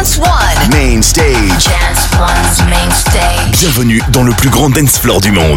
Dance One. Main Stage. Dance One's Main Stage. Bienvenue dans le plus grand dance floor du monde.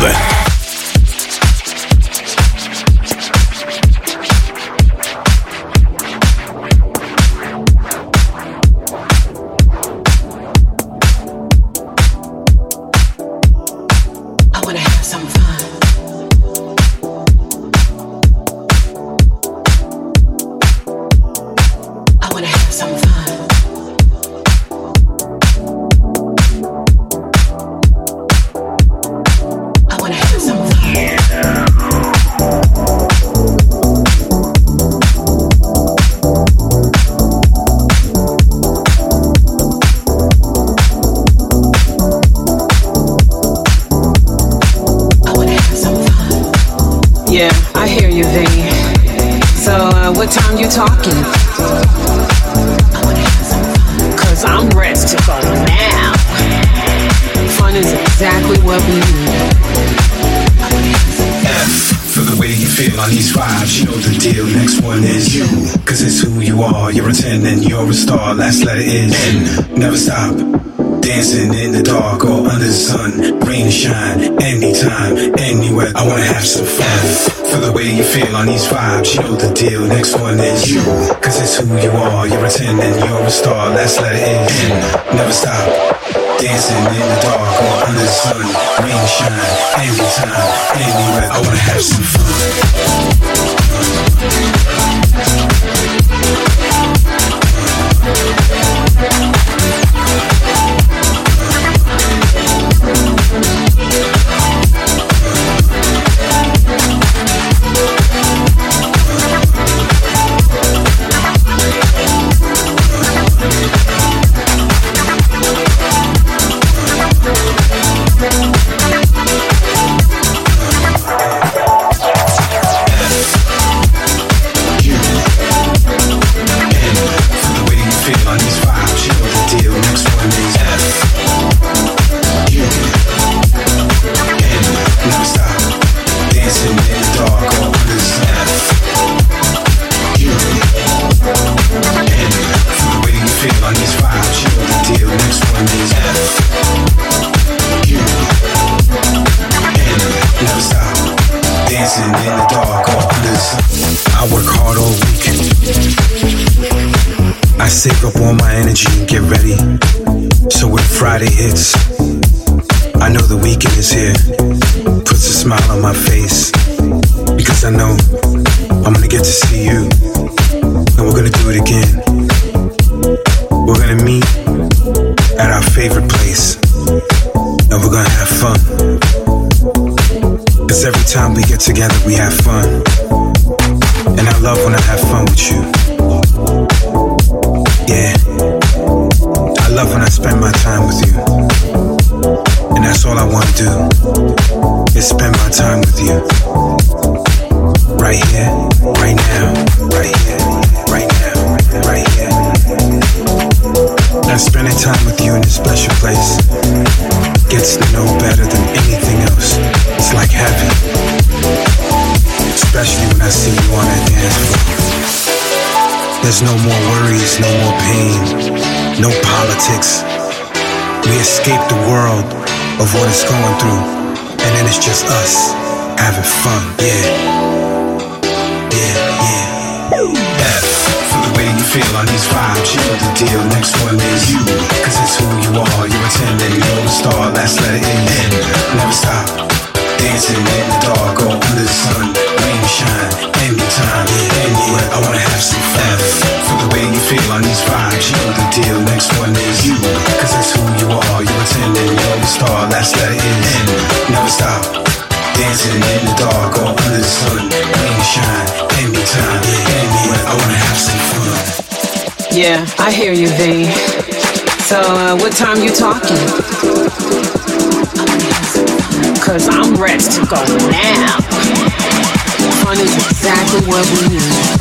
Yeah, I hear you, V. So, what time you talking? Cause I'm ready to go now. Fun is exactly what we need. For the way you feel on these vibes, you know the deal. Next one is you, cause it's who you are. You're a 10 and you're a star. Last letter is N. Never stop. Dancing in the dark or under the sun, rain or shine, anytime, anywhere. I wanna have some fun. For the way you feel on these vibes, you know the deal. Next one is you, cause it's who you are. You're a 10 and you're a star. Last letter is N. Never stop. Dancing in the dark or under the sun, rain or shine, anytime, anywhere. I wanna have some fun. Save up all my energy and get ready. So when Friday hits, I know the weekend is here. Puts a smile on my face, because I know I'm gonna get to see you, and we're gonna do it again. We're gonna meet at our favorite place, and we're gonna have fun. Cause every time we get together we have fun, and I love when I have fun with you. Yeah, I love when I spend my time with you, and that's all I wanna do, is spend my time with you. Right here, right now, right here, right now, right here. And spending time with you in this special place gets to know better than anything else. It's like heaven, especially when I see you on that dance floor. There's no more worries, no more pain, no politics. We escape the world of what it's going through, and then it's just us having fun, yeah. Yeah, yeah. F for the way you feel on these vibes, you know the deal. Next one is you, cause it's who you are. You're a 10 and you're a star. Last letter is N. Never stop. Dancing in the dark or under the sun, rain or shine, anytime, anywhere. I wanna have some fun. For the way you feel on these vibes, you know the deal. Next one is you, cause it's who you are. You're a 10 and you're a star. Last letter is N. Never stop. Dancing in the dark or under the sun, rain or shine, anytime, anywhere. I wanna have some fun. Yeah, I hear you, V. So, what time you talking? Cause I'm ready to go now. Fun is exactly what we need.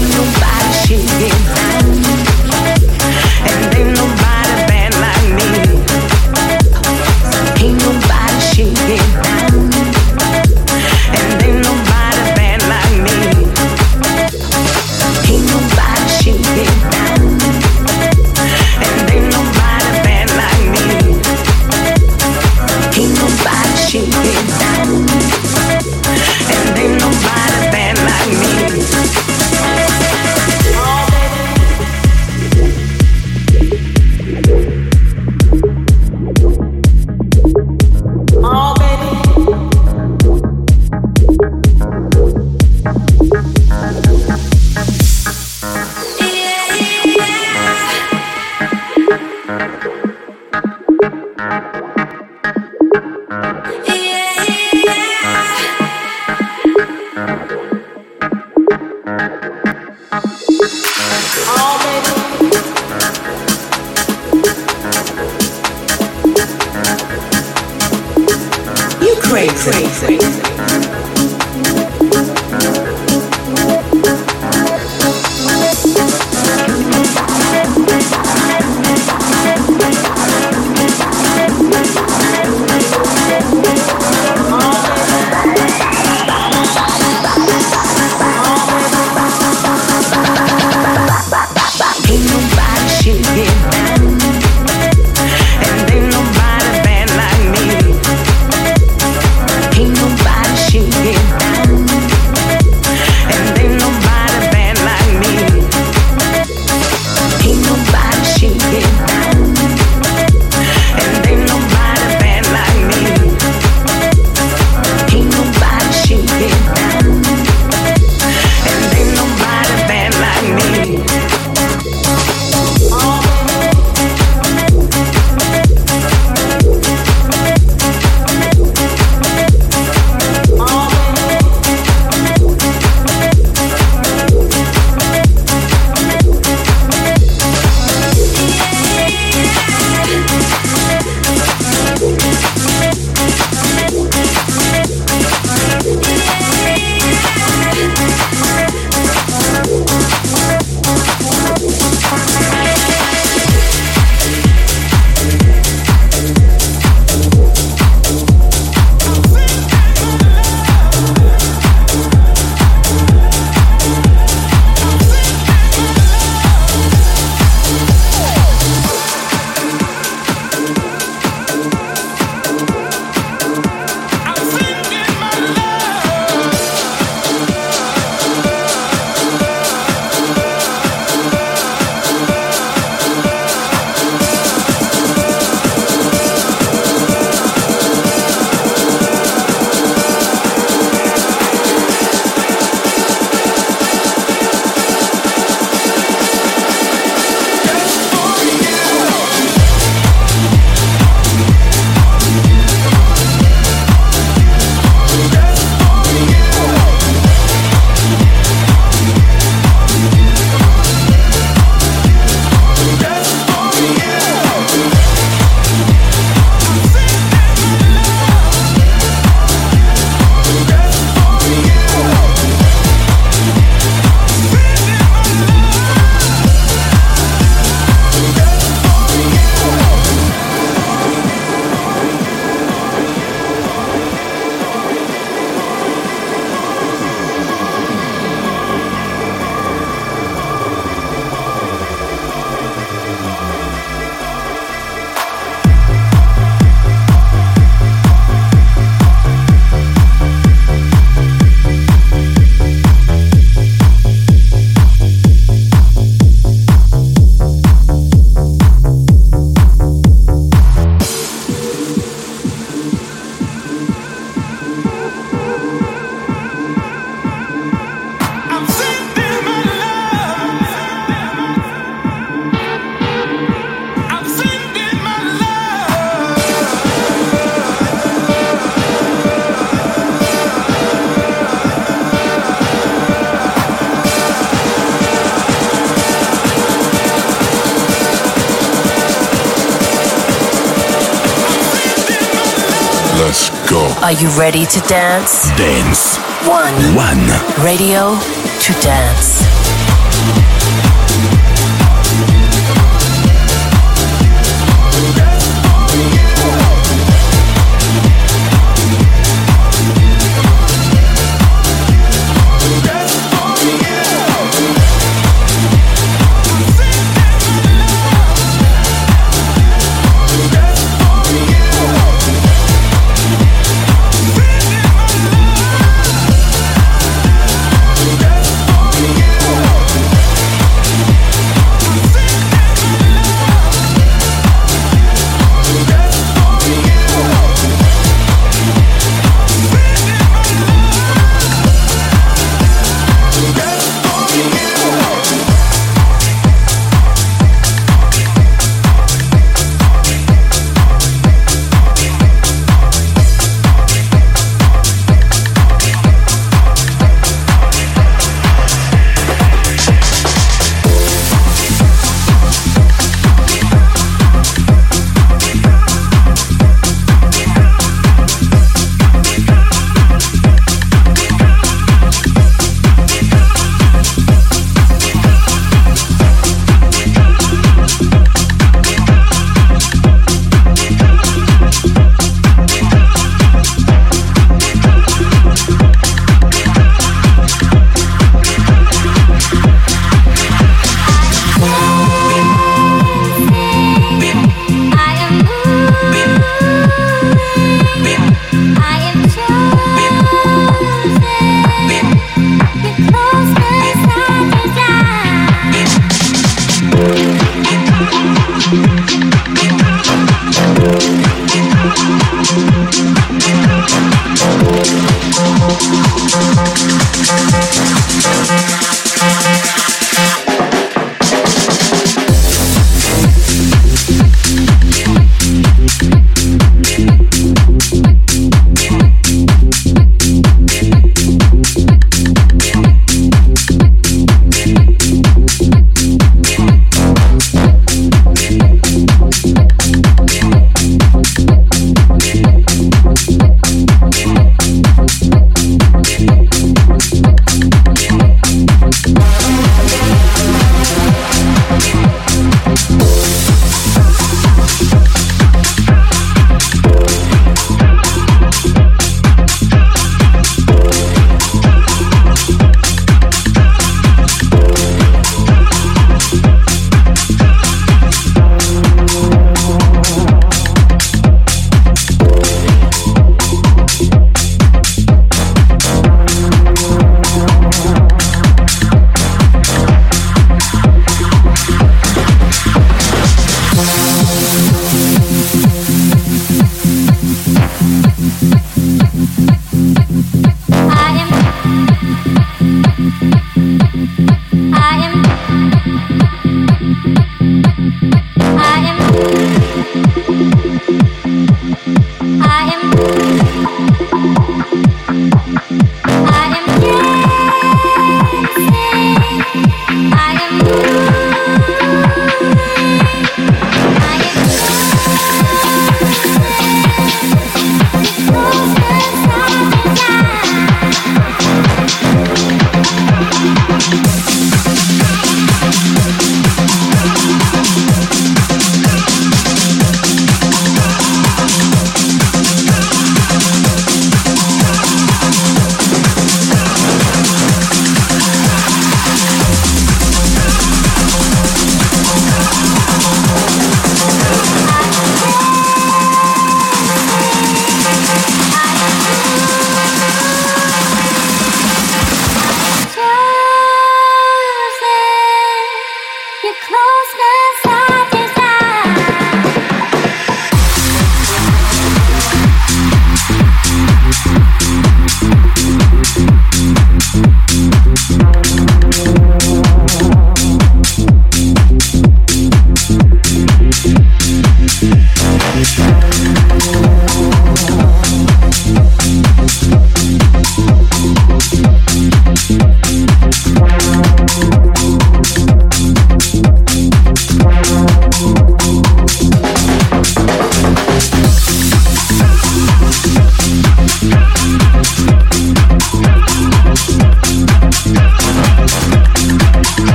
Are you ready to dance? Dance. One. One. Radio to dance.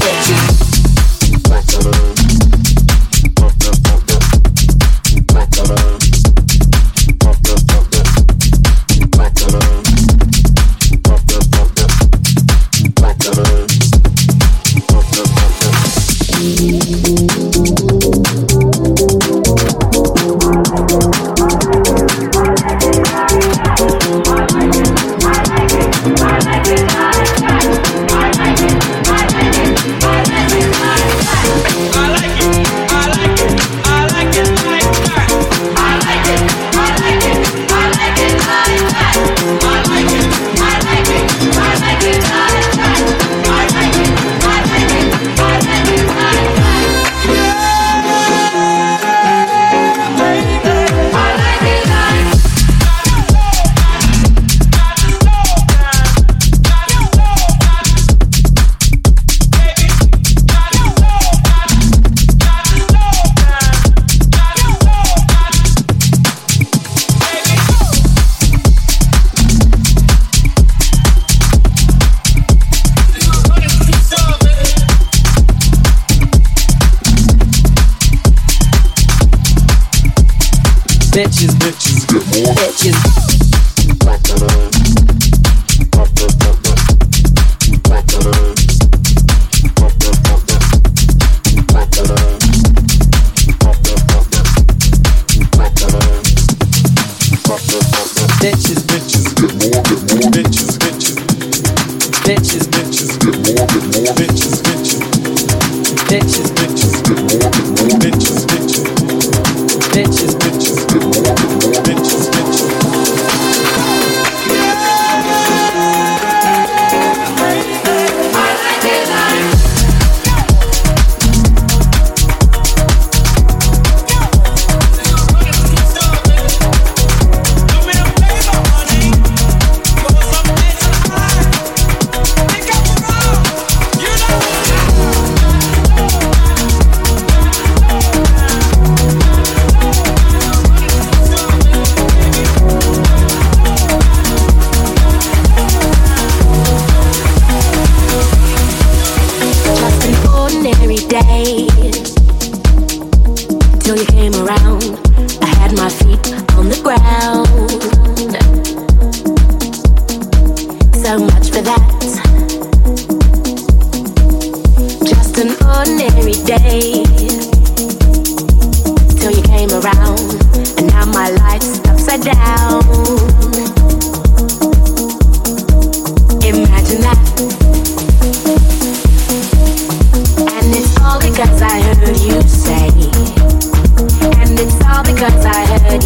Because I heard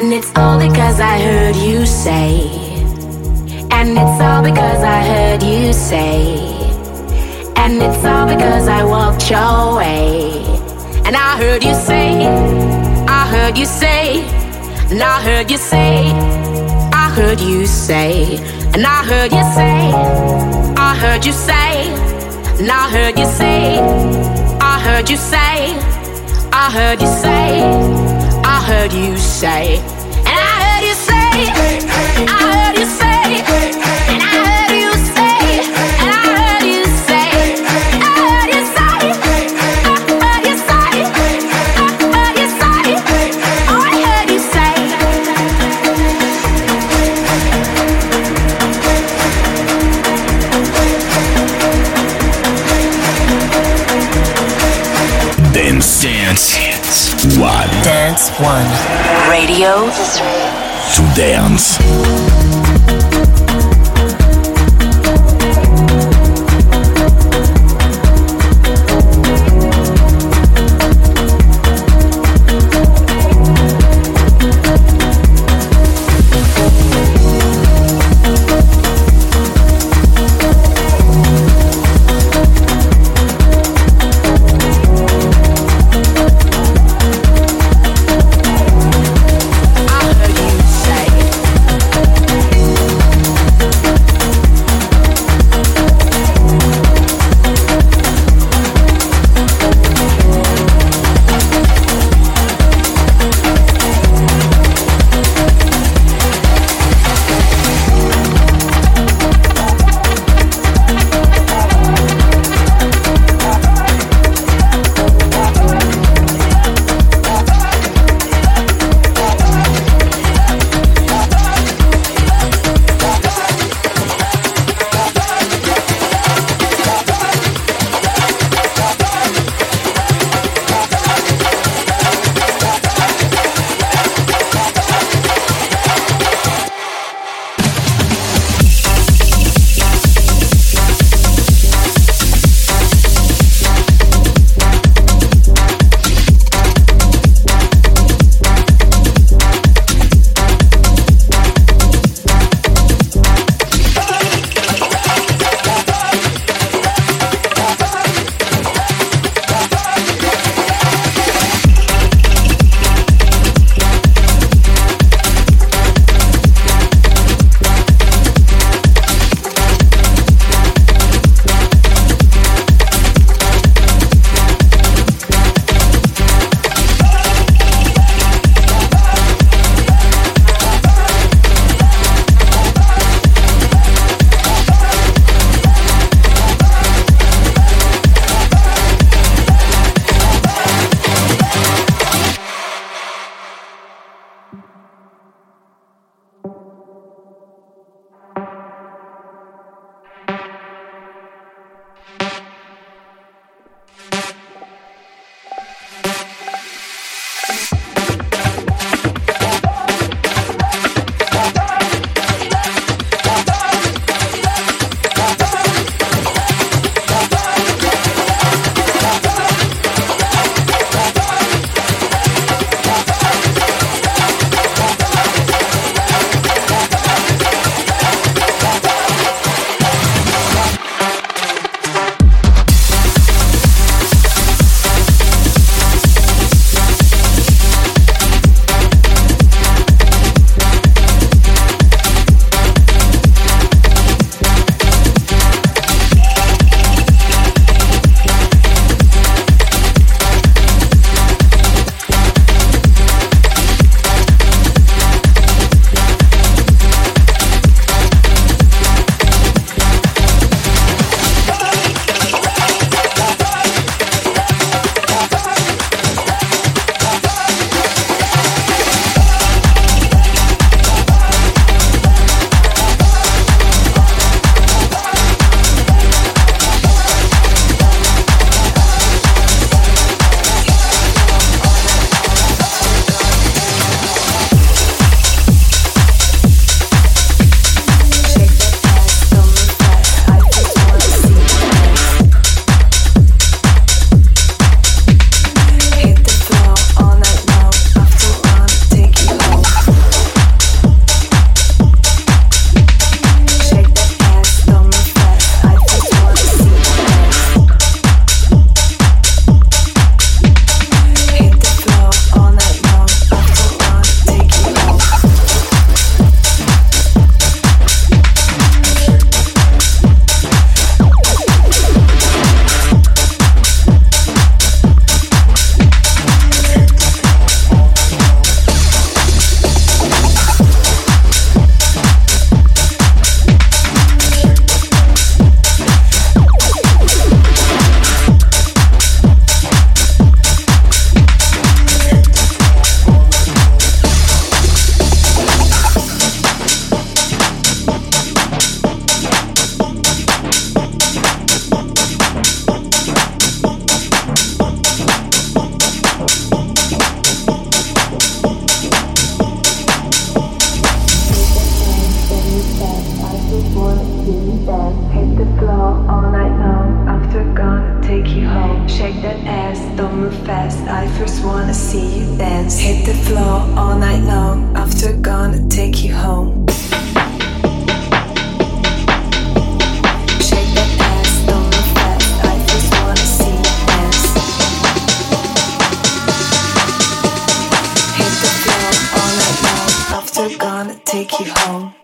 And it's all because I heard you say. And it's all because I heard you say. And it's all because I walked your way. And I heard you say, I heard you say, and I heard you say, I heard you say, and I heard you say, I heard you say, and I heard you say, I heard you say, I heard you say, I heard you say, and I heard you say, I heard you say, and I heard you say, and I heard you say, I heard you say, I heard you say, I heard you say, oh I heard you say. Dance One. Dance One. Radio To dance. I heard you say. see you dance. Hit the floor all night long. After gonna take you home. Shake that ass, don't move fast. I just wanna see you dance. Hit the floor all night long. After gonna take you home.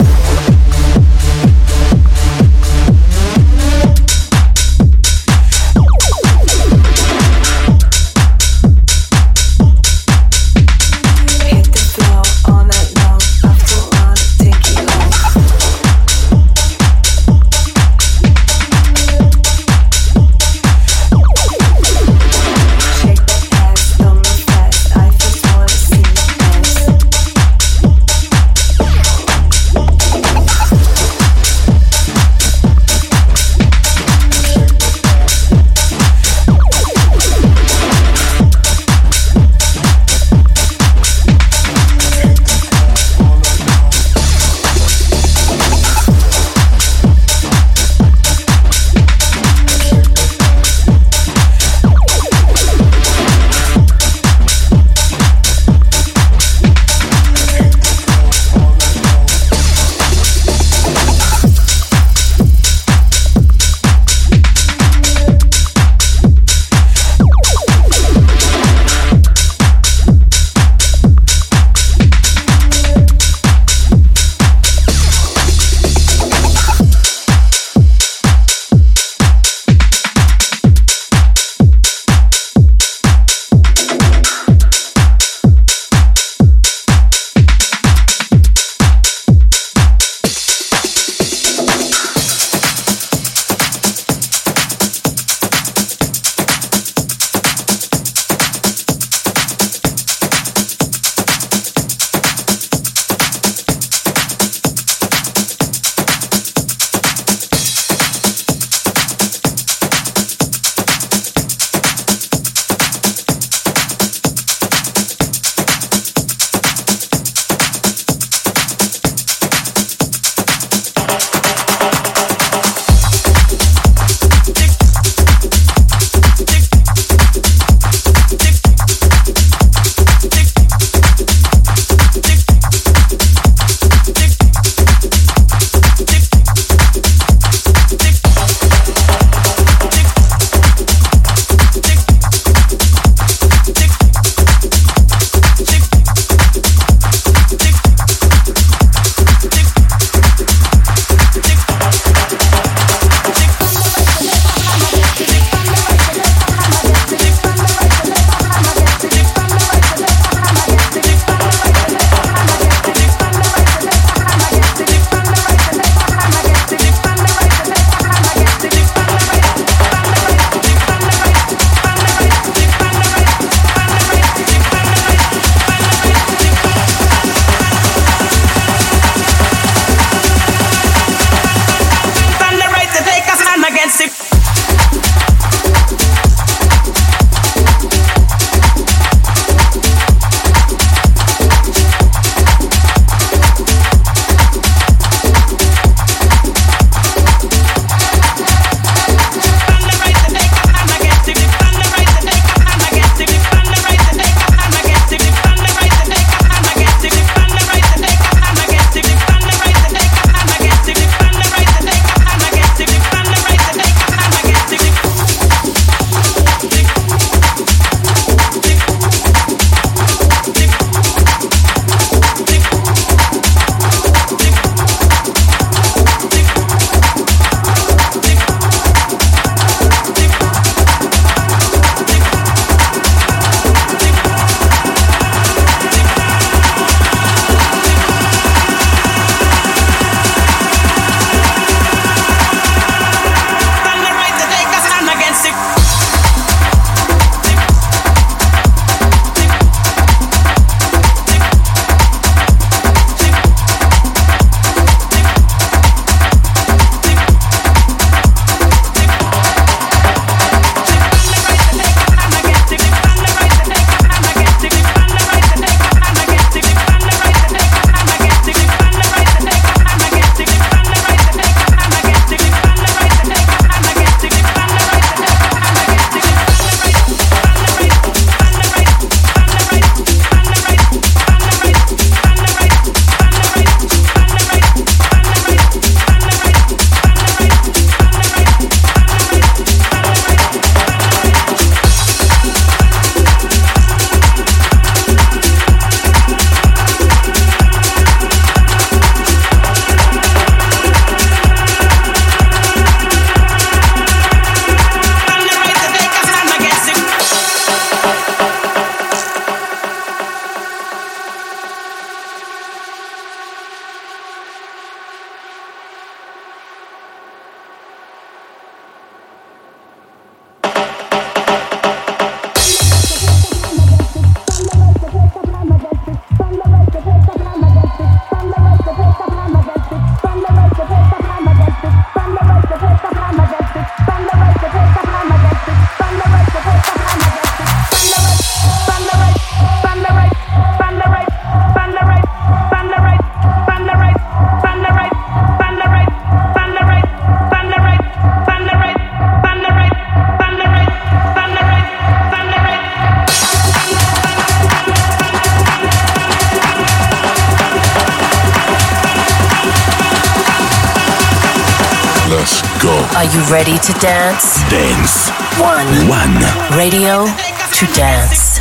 Are you ready to dance? Dance One. Radio to dance.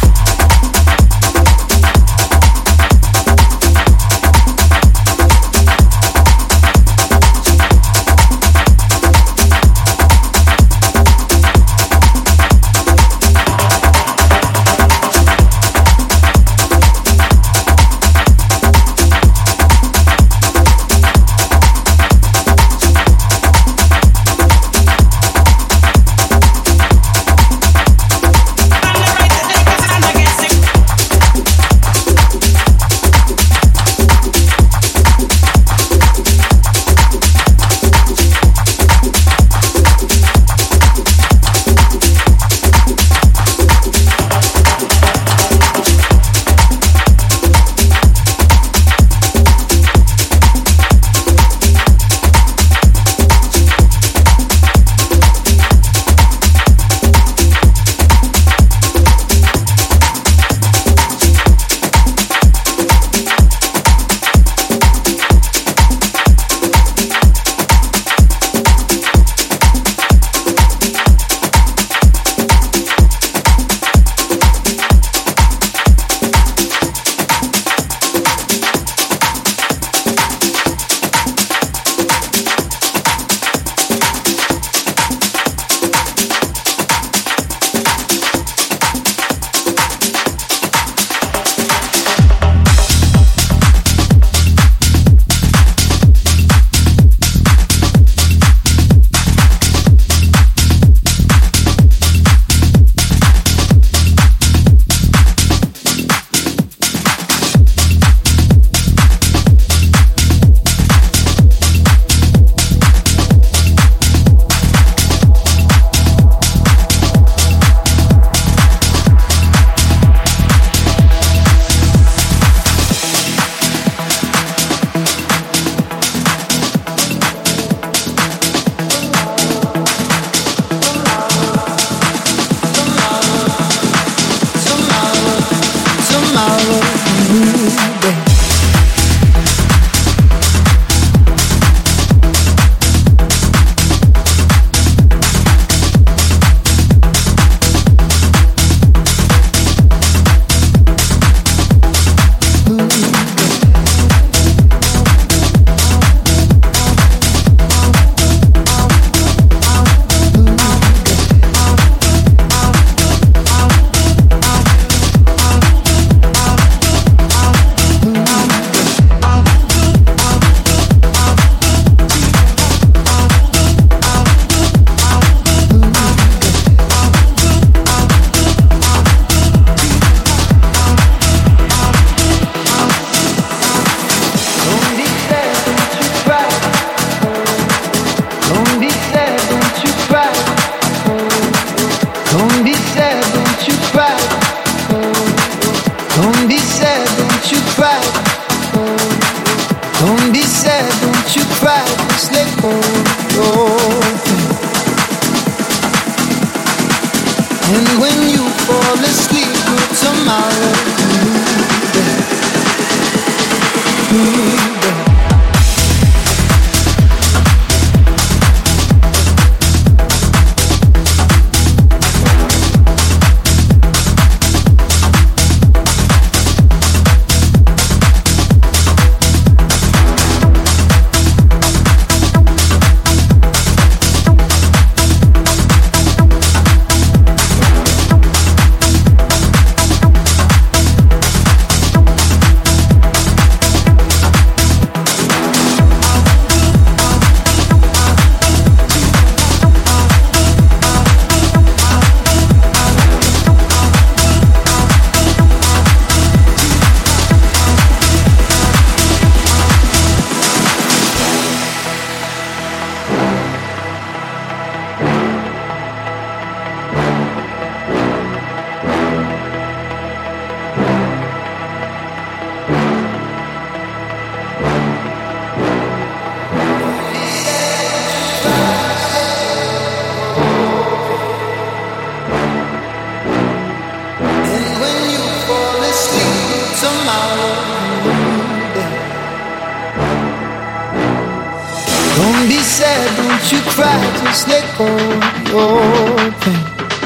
you cry, just let go of your pain.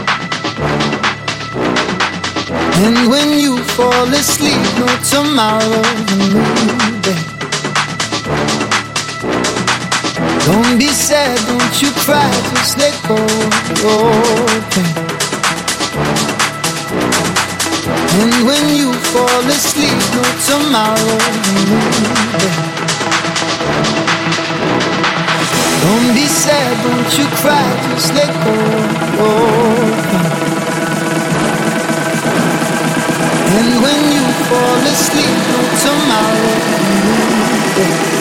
And when you fall asleep, no tomorrow's a new day. Don't be sad, don't you cry, just let go of your pain. And when you fall asleep, no tomorrow's a new day. Don't be sad, don't you cry, just let go of your pain. And when you fall asleep, no tomorrow's a new day.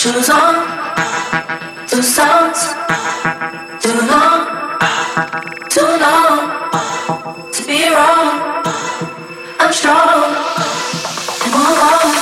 Shoes on, two songs, too long to be wrong. I'm strong and move on.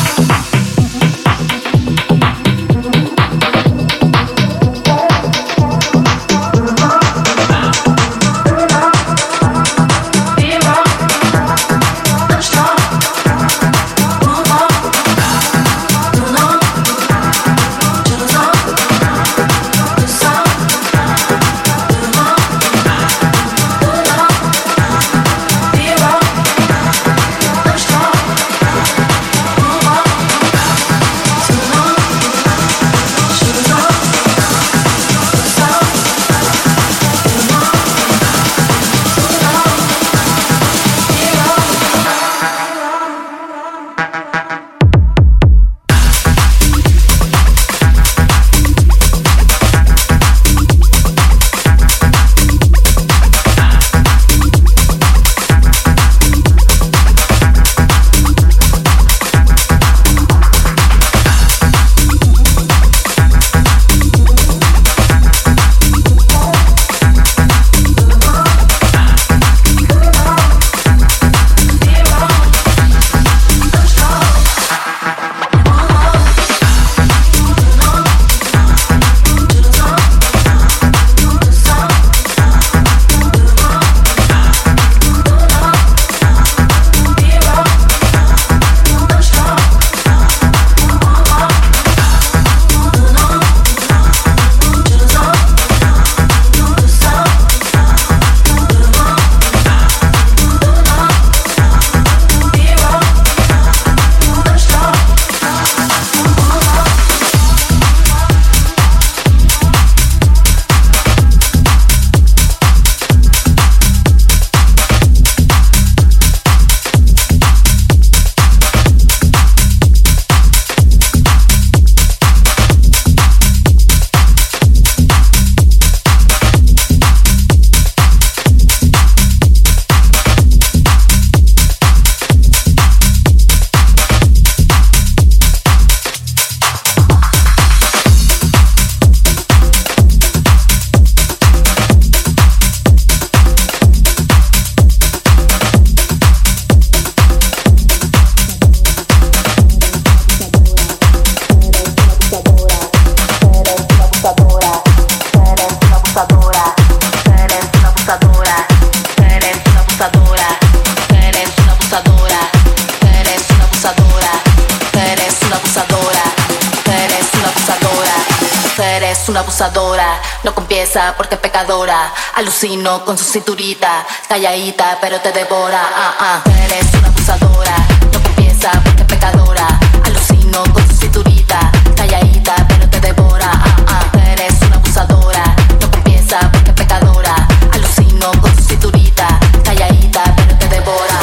Una abusadora, no confiesa porque es pecadora. Alucino con su cinturita, calladita pero te devora. Eres una abusadora, no confiesa porque es pecadora. Alucino con su cinturita, calladita pero te devora. Eres una abusadora, no confiesa porque es pecadora. Alucino con su cinturita, calladita pero te devora.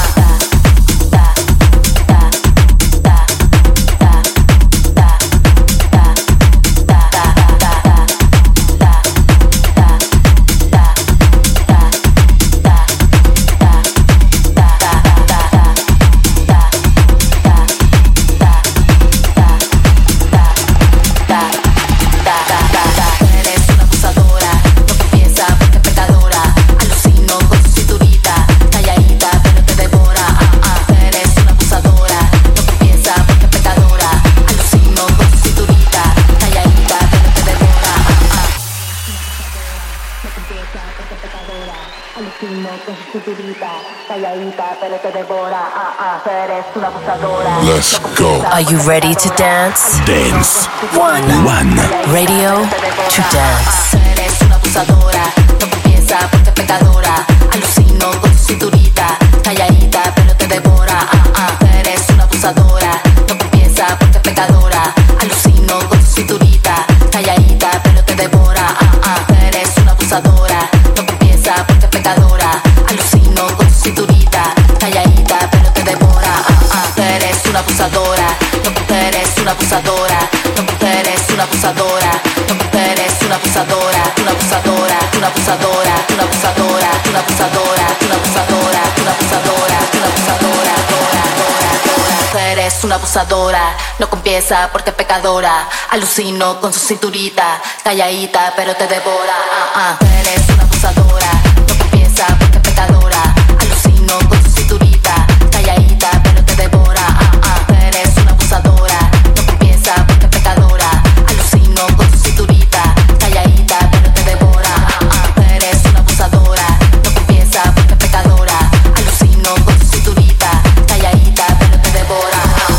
Let's go. Are you ready to dance? Dance. One. Radio to dance. Eres una abusadora, no confiesa porque es pecadora. Alucino con su cinturita, calladita pero te devora. Eres una abusadora, no confiesa porque es pecadora. Alucino con su cinturita, calladita pero te devora. Eres una abusadora, no confiesa porque es pecadora. Alucino con su cinturita, calladita pero te devora. Eres una abusadora, no eres una abusadora, no eres una abusadora, no eres una abusadora, una abusadora, una abusadora, una abusadora, una abusadora, una abusadora, una abusadora, una abusadora. eres una abusadora. No confiesa porque es pecadora. Alucino con su cinturita, calladita pero te devora. Tú eres una abusadora. No confiesa porque es pecadora. Alucino con su cinturita, calladita pero te devora. Tú eres una abusadora. No confiesa porque es pecadora. Alucino con su cinturita, calladita pero te devora. Tú eres una abusadora. No confiesa porque es pecadora. Alucino con su cinturita, calladita pero te devora.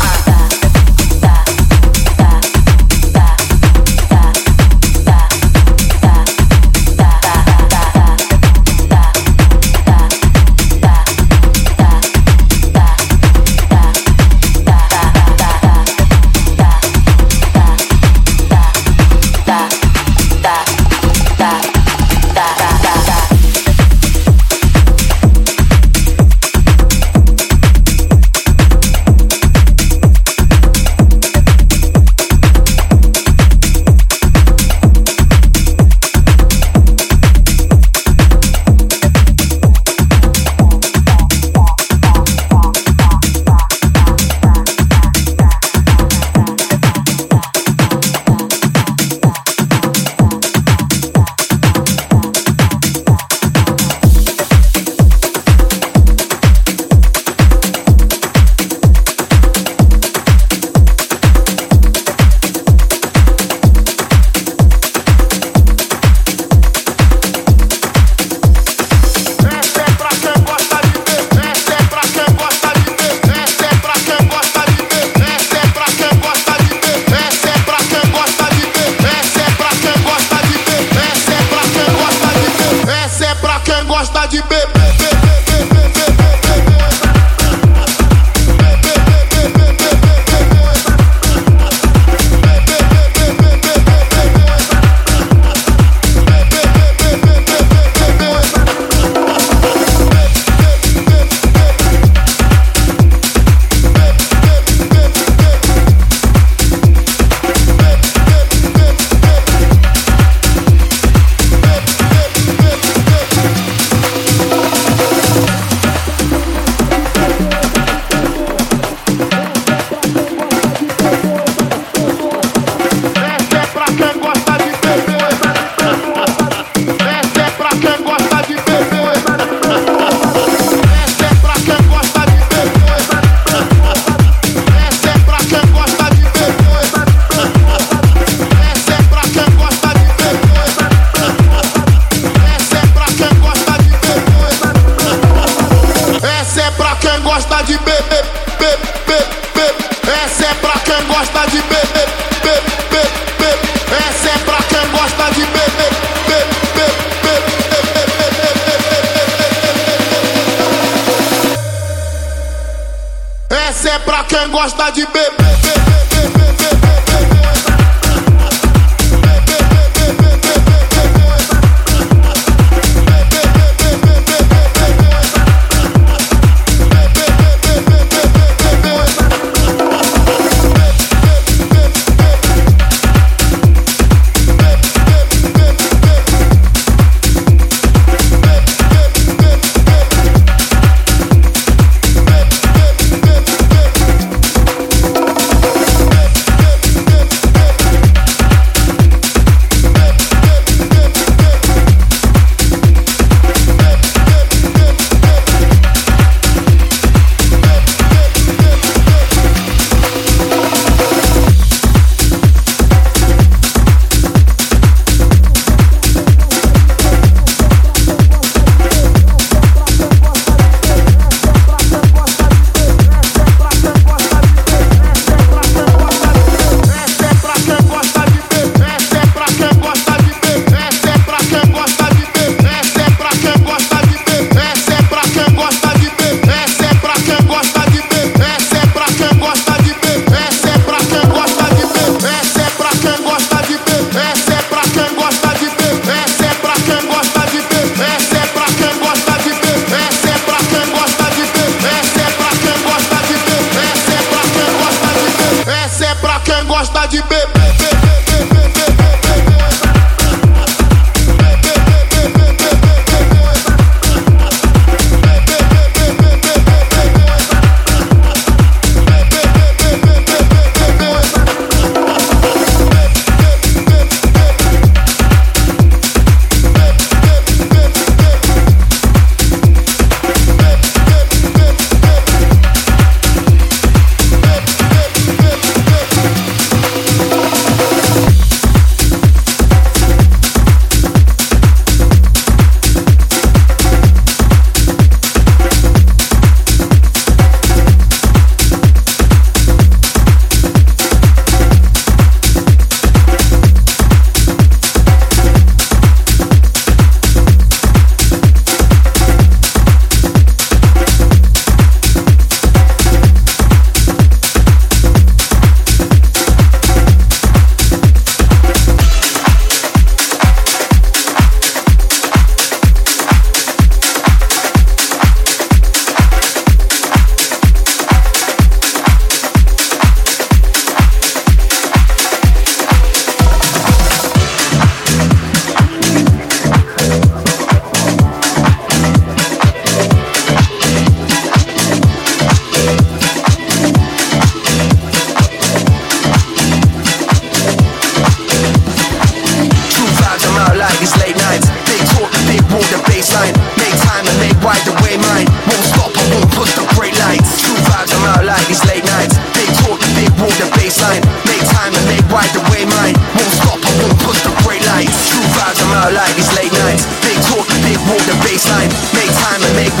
Gosta de beber.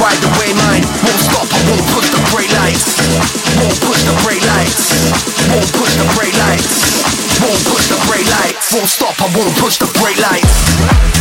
ride away mine. Won't stop, I won't push the brake lights. Won't push the brake lights. Won't push the brake lights. Won't push the brake lights. Won't stop, I won't push the brake lights.